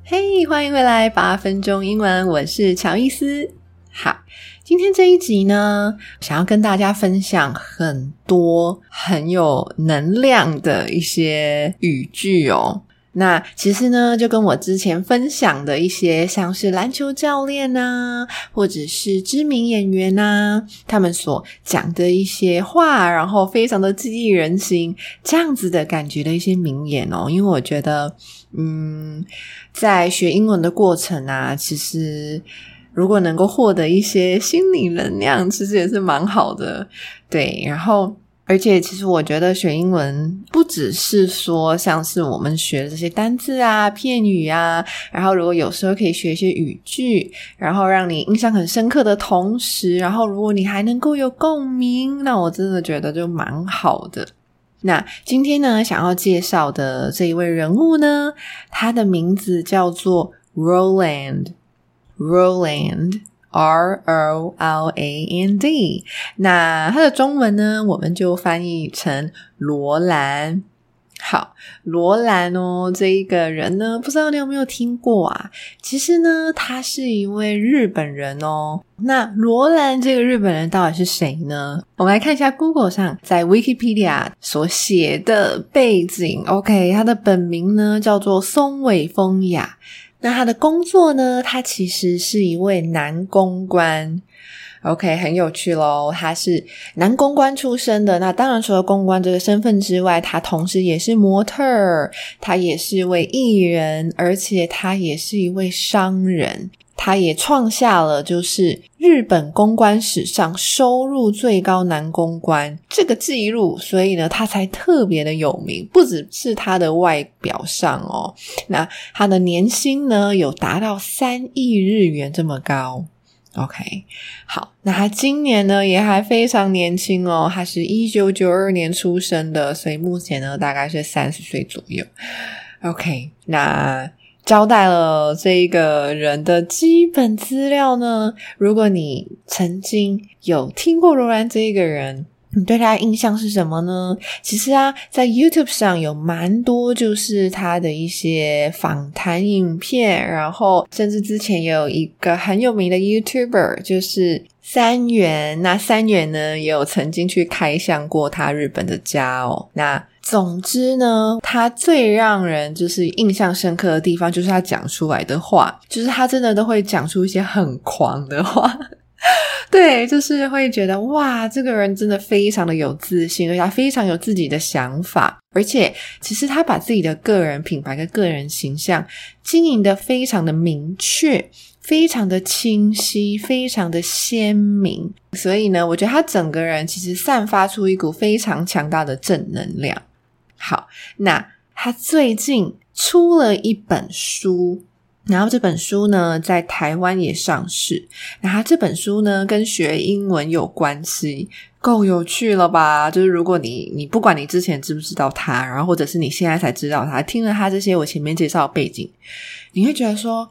嘿，歡迎回來8分鐘英文，我是喬伊斯。好，今天這一集呢，想要跟大家分享很多很有能量的一些語句哦。那其實呢，就跟我之前分享的一些像是籃球教練啊，或者是知名演員啊，他們所講的一些話，然後非常的激勵人心，這樣子的感覺的一些名言哦。因為我覺得在學英文的過程啊，其實如果能夠獲得一些心理能量，其實也是蠻好的。对，然後而且其實我覺得學英文不只是說像是我們學的這些單字啊、片語啊，然後如果有時候可以學一些語句，然後讓你印象很深刻的同時，然後如果你還能夠有共鳴，那我真的覺得就蠻好的。那今天呢，想要介紹的這一位人物呢，他的名字叫做 Roland R-O-L-A-N-D， 那它的中文呢，我們就翻譯成羅蘭。好，羅蘭哦，這一個人呢，不知道你有沒有聽過啊？其實呢，他是一位日本人哦。那羅蘭這個日本人到底是誰呢？我們來看一下 Google 上在 Wikipedia 所寫的背景。OK， 他的本名呢叫做松尾豐雅。那他的工作呢，他其實是一位男公關。OK， 很有趣咯，他是男公關出身的。那當然除了公關這個身份之外，他同時也是模特兒，他也是一位藝人，而且他也是一位商人。他也創下了就是日本公關史上收入最高男公關這個記錄，所以呢他才特別的有名，不只是他的外表上哦，那他的年薪呢有達到3億日元這麼高。OK， 好，那他今年呢也還非常年輕哦，他是1992年出生的，所以目前呢大概是30歲左右。OK， 那交代了這一個人的基本資料呢，如果你曾經有聽過羅蘭這一個人，你對他的印象是什麼呢？其實啊，在 YouTube 上有蠻多就是他的一些訪談影片，然後甚至之前也有一個很有名的 YouTuber 就是三元，那三元呢也有曾經去開箱過他日本的家哦。那總之呢，他最讓人就是印象深刻的地方就是他講出來的話，就是他真的都會講出一些很狂的話。對，就是會覺得哇，這個人真的非常的有自信，而且他非常有自己的想法，而且其實他把自己的個人品牌跟個人形象經營得非常的明確，非常的清晰，非常的鮮明，所以呢，我覺得他整個人其實散發出一股非常強大的正能量。好，那他最近出了一本書，然後這本書呢在台灣也上市。那他這本書呢跟學英文有關係，夠有趣了吧？就是如果你不管你之前知不知道他，然後或者是你現在才知道他，聽了他這些我前面介紹的背景，你會覺得說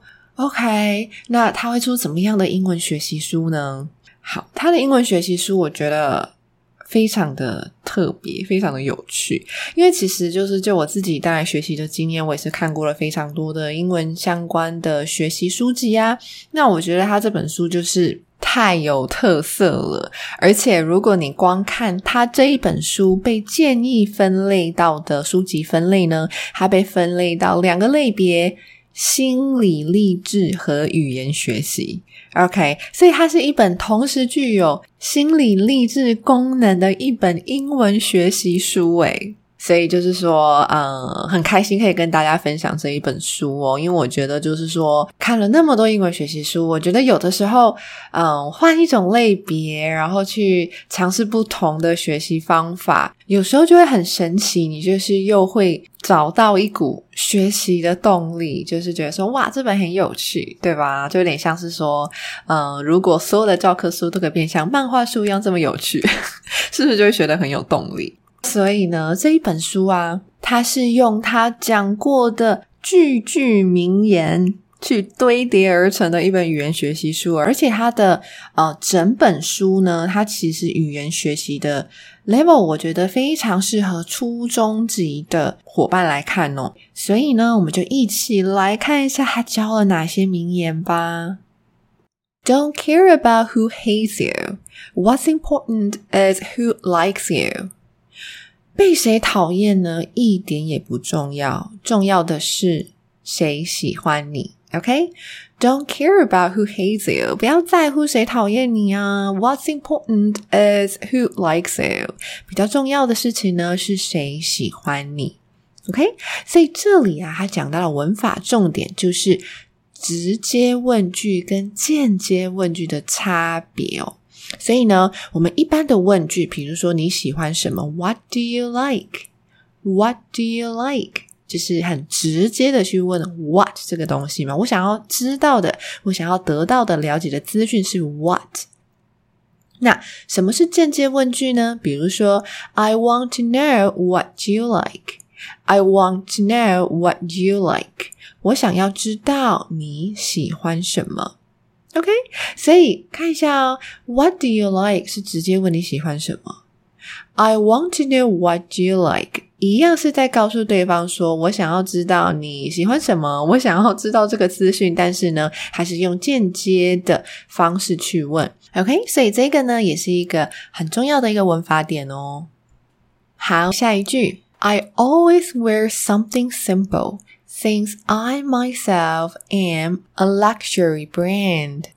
OK， 那他會出怎麼樣的英文學習書呢？好，他的英文學習書我覺得非常的特別，非常的有趣，因為其實就我自己當然學習的經驗，我也是看過了非常多的英文相關的學習書籍啊。那我覺得他這本書就是太有特色了，而且如果你光看他這一本書被建議分類到的書籍分類呢，它被分類到2個類別：心理勵志和語言學習。OK， 所以它是一本同時具有心理勵志功能的一本英文學習書誒。所以就是說很開心可以跟大家分享這一本書哦，因為我覺得就是說看了那麼多英文學習書，我覺得有的時候換一種類別，然後去嘗試不同的學習方法，有時候就會很神奇，你就是又會找到一股學習的動力，就是覺得說哇，這本很有趣，對吧？就有點像是說如果所有的教科書都可以變像漫畫書一樣這麼有趣，是不是就會學得很有動力？所以呢，這一本書啊，它是用他講過的句句名言， 去堆疊而成的一本語言學習書，而且它的整本書呢，它其實語言學習的 level 我覺得非常適合初中級的夥伴來看哦。所以呢，我們就一起來看一下它教了哪些名言吧。Don't care about who hates you. What's important is who likes you. 被誰討厭呢？一點也不重要，重要的是誰喜歡你。OK? Don't care about who hates you. 不要在乎誰討厭你啊。What's important is who likes you. 比較重要的事情呢，是誰喜歡你。OK? 所以這裡啊，他講到了文法重點，就是直接問句跟間接問句的差別哦。所以呢，我們一般的問句，比如說你喜歡什麼 What do you like? What do you like? 就是很直接的去問 What 這個東西嘛，我想要知道的，我想要得到的了解的資訊是 What。 那什麼是間接問句呢？比如說 I want to know what you like. I want to know what you like. 我想要知道你喜歡什麼。OK? 所以看一下哦， What do you like 是直接問你喜歡什麼。I want to know what you like 一樣是在告訴對方說我想要知道你喜歡什麼，我想要知道這個資訊，但是呢還是用間接的方式去問。 OK? 所以這個呢也是一個很重要的一個文法點哦。好，下一句 I always wear something simple since I myself am a luxury brand.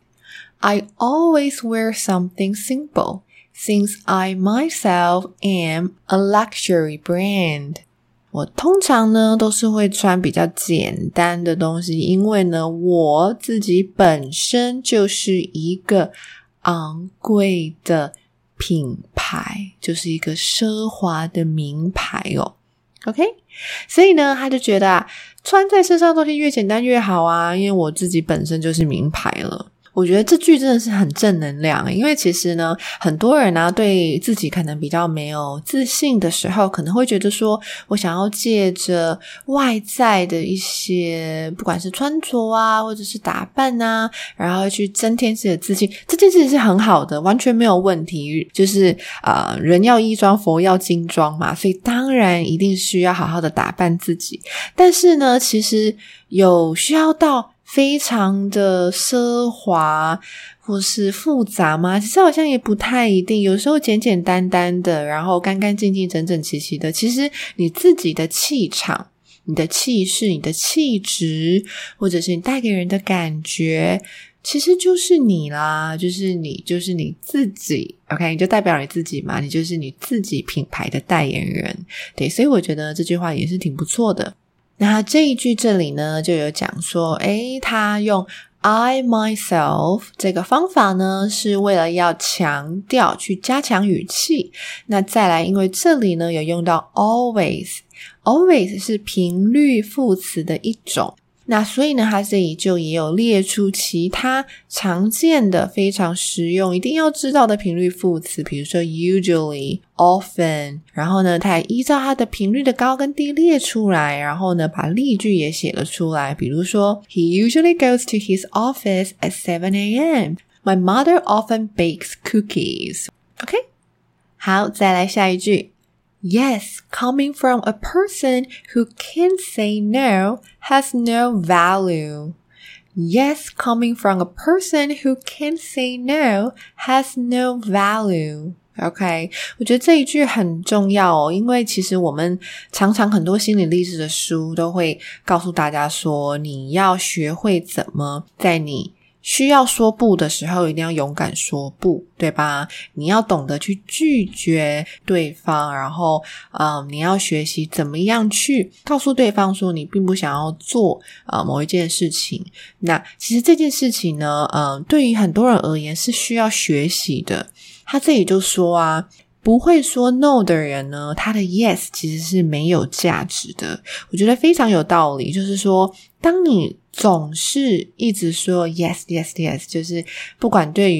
I always wear something simple since I myself am a luxury brand. 我通常呢都是會穿比較簡單的東西，因為呢我自己本身就是一個昂貴的品牌，就是一個奢華的名牌哦。OK? 所以呢他就覺得穿在身上的東西越簡單越好啊，因為我自己本身就是名牌了。我覺得這句真的是很正能量，因為其實呢很多人啊對自己可能比較沒有自信的時候，可能會覺得說我想要借着外在的一些不管是穿着啊或者是打扮啊，然後去增添自己的自信，這件事情是很好的，完全沒有問題，就是人要衣裝佛要金裝嘛，所以當然一定需要好好的打扮自己。但是呢其實有需要到非常的奢華或是複雜嗎？其實好像也不太一定，有時候簡簡單單的，然後乾乾淨淨整整齊齊的，其實你自己的氣場、你的氣勢、你的氣質，或者是你帶給人的感覺，其實就是你啦，就是你自己。 OK? 你就代表你自己嘛，你就是你自己品牌的代言人。对，所以我覺得這句話也是挺不錯的。那這一句這裡呢就有講說他用 I myself 這個方法呢是為了要強調去加強語氣。那再來因為這裡呢有用到 always 是頻率副詞的一種，那所以呢它這裡就也有列出其他常見的非常實用一定要知道的頻率副詞，比如說 usually, often， 然後呢它也依照它的頻率的高跟低列出來，然後呢把例句也寫了出來，比如說 He usually goes to his office at 7 a.m. My mother often bakes cookies. OK? 好，再來下一句Yes, coming from a person who can't say no has no value. Yes, coming from a person who can't say no has no value. OK, 我覺得這一句很重要哦，因為其實我們常常很多心理勵志的書都會告訴大家說，你要學會怎麼在你需要說不的時候一定要勇敢說不，對吧？你要懂得去拒絕對方，然後你要學習怎麼樣去告訴對方說你並不想要做某一件事情。那其實這件事情呢對於很多人而言是需要學習的。他這裡就說不會說 no 的人呢，他的 yes 其實是沒有價值的。我覺得非常有道理，就是說當你總是一直說 yes yes yes， 就是不管對於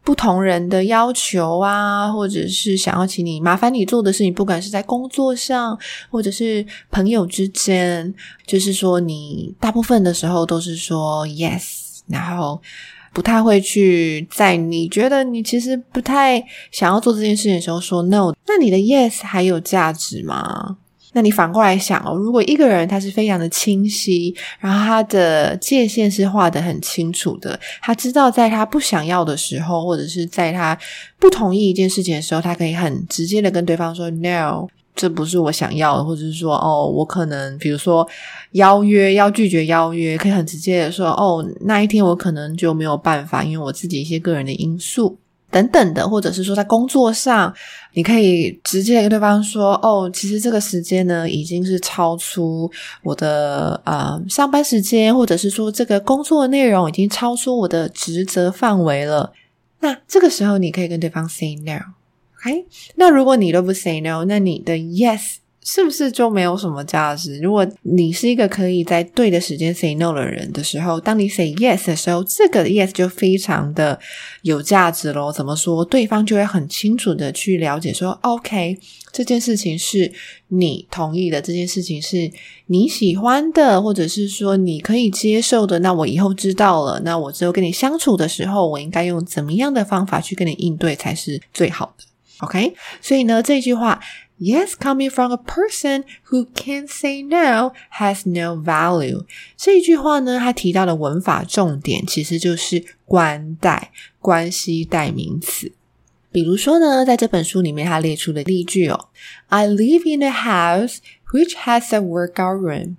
不同人的要求啊，或者是想要請你麻煩你做的事情，不管是在工作上或者是朋友之間，就是說你大部分的時候都是說 yes， 然後不太會去在你覺得你其實不太想要做這件事情的時候說 no。 那你的 yes 還有價值嗎？那你反過來想哦，如果一個人他是非常的清晰，然後他的界限是畫得很清楚的，他知道在他不想要的時候，或者是在他不同意一件事情的時候，他可以很直接的跟对方說 no， 這不是我想要的，或者是說我可能比如說要拒絕邀約，可以很直接的說那一天我可能就沒有辦法，因為我自己一些個人的因素等等的，或者是說在工作上你可以直接跟对方說其實这個時間呢已經是超出我的上班時間，或者是說這個工作的內容已經超出我的職責範圍了。那這個時候你可以跟對方 say no， OK？ 那如果你都不 say no， 那你的 yes是不是就沒有什麼價值？如果你是一個可以在对的時間 say no 的人的時候，当你 say yes 的时候，這個 yes 就非常的有價值咯。怎麼說？對方就會很清楚的去了解說 OK， 這件事情是你同意的，這件事情是你喜歡的，或者是說你可以接受的，那我以後知道了，那我之後跟你相處的時候，我應該用怎麼樣的方法去跟你應對才是最好的。 OK？ 所以呢，這句話Yes, coming from a person who can't say no has no value. 這一句話呢，它提到的文法重點其實就是關係代名詞。比如說呢，在這本書裡面它列出的例句I live in a house which has a workout room.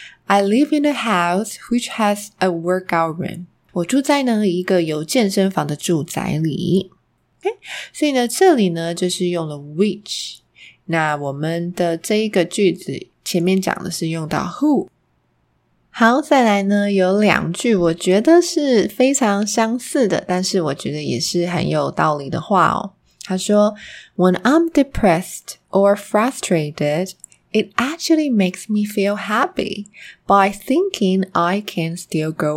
I live in a house which has a workout room. 我住在呢一個有健身房的住宅裡。Okay? 所以呢，這裡呢就是用了 which。那我們的這一個句子前面講的是用到 who。 好，再來呢有兩句我覺得是非常相似的，但是我覺得也是很有道理的話他說 When I'm depressed or frustrated, it actually makes me feel happy by thinking I can still go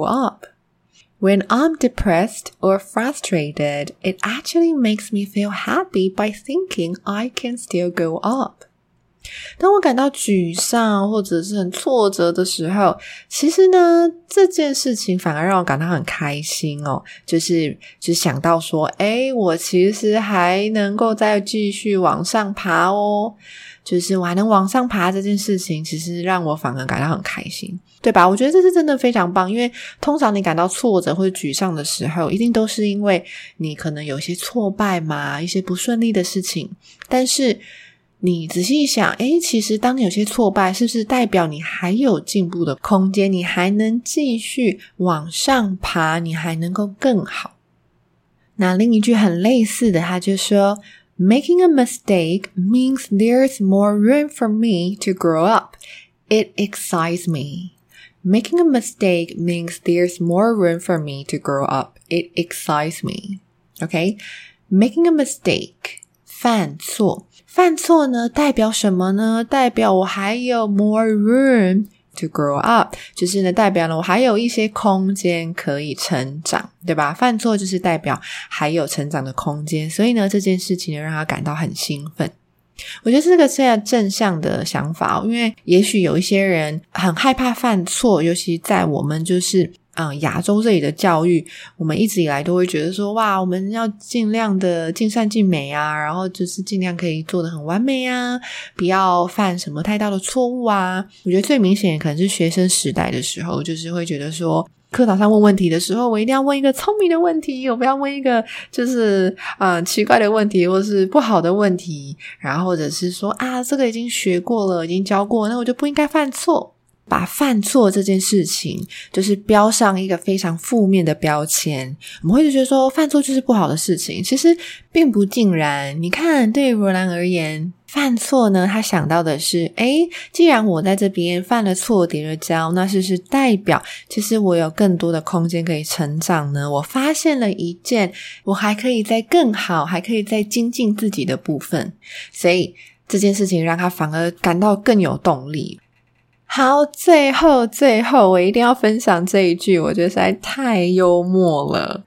up.When I'm depressed or frustrated, it actually makes me feel happy by thinking I can still go up. 當我感到沮喪或者是很挫折的時候，其實呢，這件事情反而讓我感到很開心就是想到說，我其實還能夠再繼續往上爬就是我還能往上爬這件事情，其實讓我反而感到很開心，對吧？我覺得這是真的非常棒，因為通常你感到挫折或者沮喪的時候，一定都是因為你可能有些挫敗嘛，一些不順利的事情，但是你仔細一想，其實當你有些挫敗，是不是代表你還有進步的空間，你還能繼續往上爬，你還能夠更好。那另一句很類似的，他就說Making a mistake means there's more room for me to grow up. It excites me. Making a mistake means there's more room for me to grow up. It excites me. Okay? Making a mistake. 犯錯呢，代表什麼呢？代表我還有 more room to grow up， 就是呢代表了我還有一些空間可以成長，对吧？犯錯就是代表還有成長的空間，所以呢這件事情呢讓他感到很興奮。我覺得這個是正向的想法，因為也許有一些人很害怕犯錯，尤其在我們就是亞洲這裡的教育，我們一直以來都會覺得說，哇，我們要盡量的盡善盡美啊，然後就是盡量可以做得很完美啊，不要犯什麼太大的錯誤啊。我覺得最明顯可能是學生時代的時候，就是會覺得說，課堂上問問題的時候，我一定要問一個聰明的問題，我不要問一個就是奇怪的問題或是不好的問題，然後或者是說這個已經學過了，已經教過，那我就不應該犯錯。把犯錯這件事情就是標上一個非常負面的標籤，我們會覺得說犯錯就是不好的事情，其實並不盡然。你看對於羅蘭而言，犯錯呢他想到的是既然我在這邊犯了錯跌了跤，那是不是代表其實我有更多的空間可以成長呢？我發現了一件我還可以再更好還可以再精進自己的部分，所以這件事情讓他反而感到更有動力。好，最後我一定要分享這一句，我覺得實在太幽默了。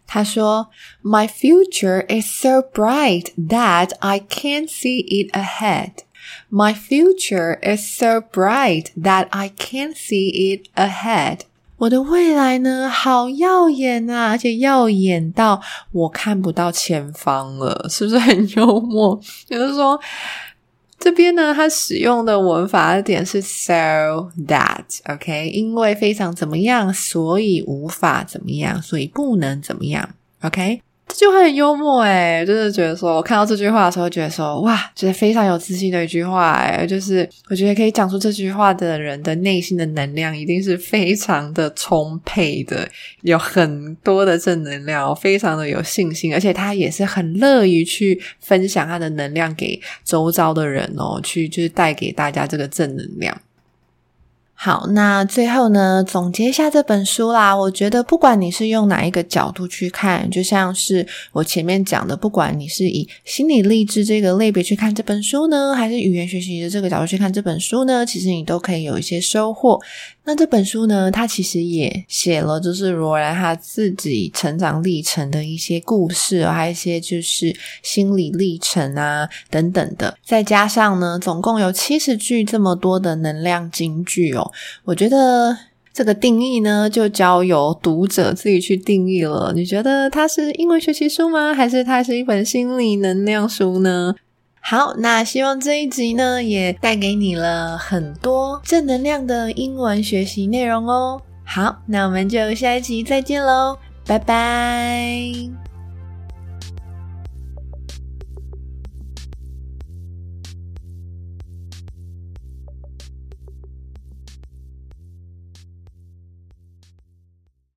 他說 My future is so bright that I can't see it ahead. My future is so bright that I can't see it ahead. 我的未来呢，好耀眼啊，而且耀眼到我看不到前方了，是不是很幽默？也就是說，這邊呢，它使用的文法的點是 so that, OK? 因為非常怎麼樣，所以無法怎麼樣，所以不能怎麼樣 OK? 這句話很幽默誒，就是覺得說我看到這句話的時候覺得說哇，覺得非常有自信的一句話誒，就是我覺得可以講出這句話的人的內心的能量一定是非常的充沛的，有很多的正能量，非常的有信心，而且他也是很樂於去分享他的能量給周遭的人哦，去就是帶給大家這個正能量。好，那最後呢，總結一下這本書啦。我覺得不管你是用哪一個角度去看，就像是我前面講的，不管你是以心理勵志這個類別去看這本書呢，還是語言學習的這個角度去看這本書呢，其實你都可以有一些收穫。那這本書呢，它其實也寫了就是羅蘭他自己成長歷程的一些故事，還有一些就是心理歷程啊等等的，再加上呢總共有70句這麼多的能量金句哦，我覺得這個定義呢就交由讀者自己去定義了。你覺得它是英文學習書嗎？還是它是一本心理能量書呢？好，那希望這一集呢也帶給你了很多正能量的英文學習內容哦。好，那我們就下一集再見嘍，拜拜。